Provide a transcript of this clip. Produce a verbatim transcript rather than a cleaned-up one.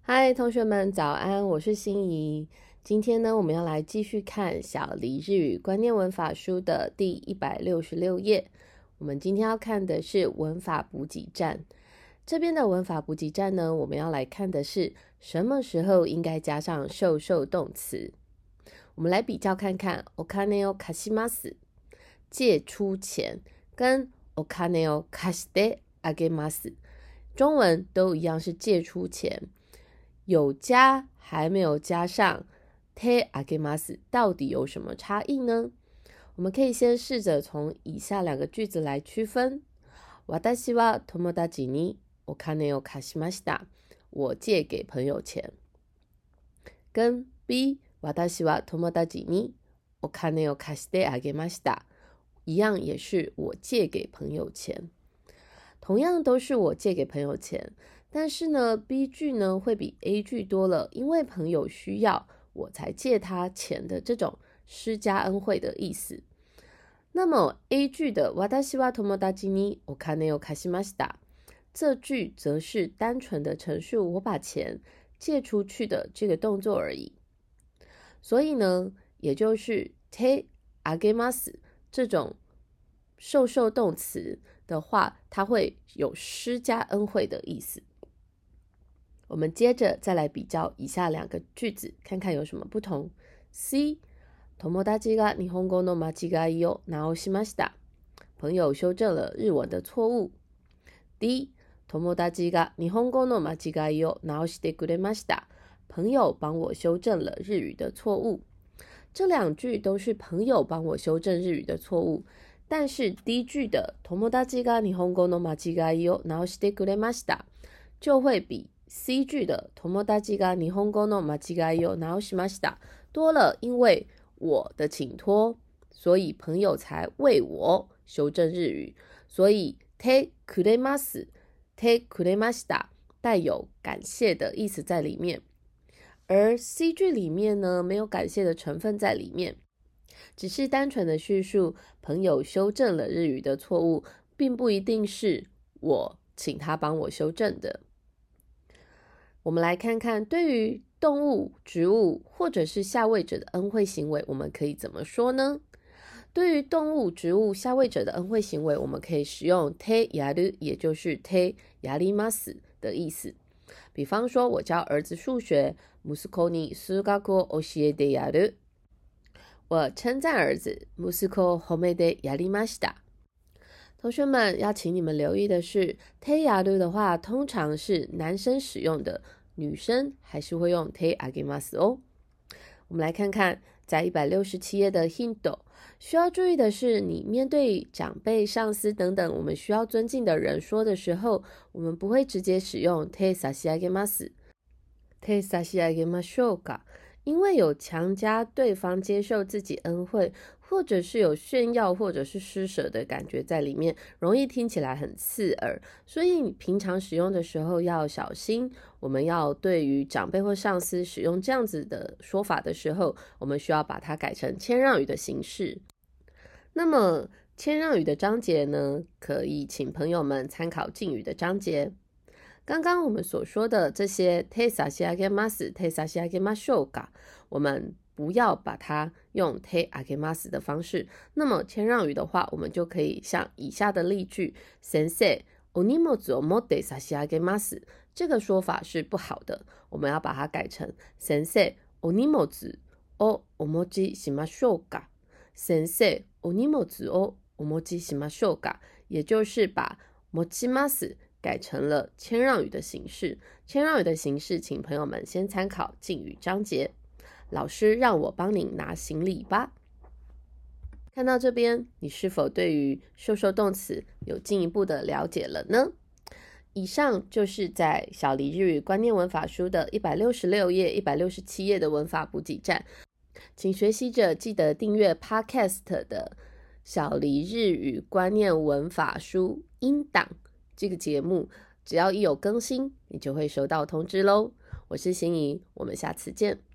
嗨，同学们早安，我是心怡。今天呢，我们要来继续看小黎日语观念文法书的第一百六十六页。我们今天要看的是文法补给站。这边的文法补给站呢，我们要来看的是什么时候应该加上受受动词。我们来比较看看お金を貸します借出钱跟お金を貸してあげます中文都一样是借出钱，有加还没有加上手あげます到底有什么差异呢？我们可以先试着从以下两个句子来区分。私は友達にお金を貸しました我借给朋友钱。跟 B 私は友達にお金を貸してあげました一样也是我借给朋友钱。同样都是我借给朋友钱，但是呢 B 句呢会比 A 句多了，因为朋友需要我才借他钱的这种施加恩惠的意思。那么 A 句的私は友達にお金を貸しました这句则是单纯的陈述我把钱借出去的这个动作而已。所以呢，也就是手あげます这种受受动词的话，它会有施加恩惠的意思。我们接着再来比较以下两个句子，看看有什么不同。C 友達が日本語の間違いを直しました朋友修正了日文的错误。D 友達が日本語の間違いを直してくれました朋友帮我修正了日语的错误。这两句都是朋友帮我修正日语的错误，但是第一句的友達が日本語の間違いを直してくれました就会比 C 句的友達が日本語の間違いを直しました多了，因为我的请托，所以朋友才为我修正日语，所以てくれますてくれました带有感谢的意思在里面。而 C 句里面呢，没有感谢的成分在里面，只是单纯的叙述朋友修正了日语的错误，并不一定是我请他帮我修正的。我们来看看对于动物、植物或者是下位者的恩惠行为，我们可以怎么说呢？对于动物、植物、下位者的恩惠行为，我们可以使用手やる，也就是手やります的意思。比方说，我教儿子数学，息子に数学を教えてやる。我称赞儿子，息子を褒めてやりました。同学们要请你们留意的是，手やる的话，通常是男生使用的，女生还是会用手あげます哦。我们来看看，在一百六十七页的 hint， 需要注意的是，你面对长辈、上司等等我们需要尊敬的人说的时候，我们不会直接使用手差し上げます、手差し上げましょうか，因为有强加对方接受自己恩惠，或者是有炫耀或者是施舍的感觉在里面，容易听起来很刺耳，所以你平常使用的时候要小心。我们要对于长辈或上司使用这样子的说法的时候，我们需要把它改成谦让语的形式。那么谦让语的章节呢，可以请朋友们参考敬语的章节。刚刚我们所说的这些手差し上げます、手差し上げましょうか，我们不要把它用手あげます的方式。那么谦让语的话，我们就可以像以下的例句：先生、お荷物を持って差し上げます。这个说法是不好的，我们要把它改成先生、お荷物をお持ちしましょうか。先生、お荷物をお持ちしましょうか，也就是把持ちます改成了谦让语的形式。谦让语的形式，请朋友们先参考敬语章节。老师让我帮您拿行李吧。看到这边，你是否对于受受动词有进一步的了解了呢？以上就是在小黎日语观念文法书的一百六十六页、一百六十七页的文法补给站。请学习者记得订阅 Podcast 的小黎日语观念文法书音档这个节目，只要一有更新，你就会收到通知咯。我是心怡，我们下次见。